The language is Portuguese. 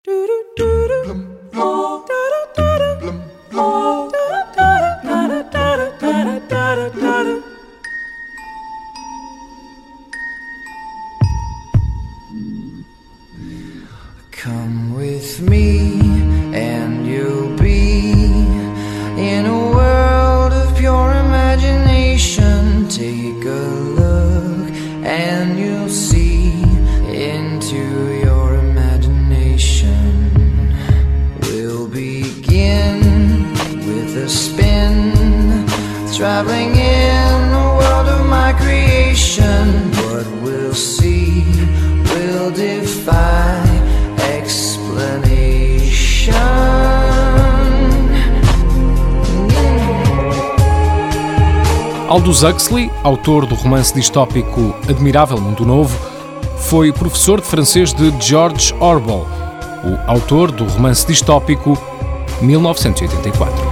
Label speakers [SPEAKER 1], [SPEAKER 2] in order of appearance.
[SPEAKER 1] Come with me and you'll be in a world of pure imagination. Take a look and you'll see into your imagination. We'll begin with a spin, traveling in the world of my creation. What we'll see will defy explanation.
[SPEAKER 2] Aldous Huxley, autor do romance distópico Admirável Mundo Novo, foi professor de francês de George Orwell, o autor do romance distópico 1984.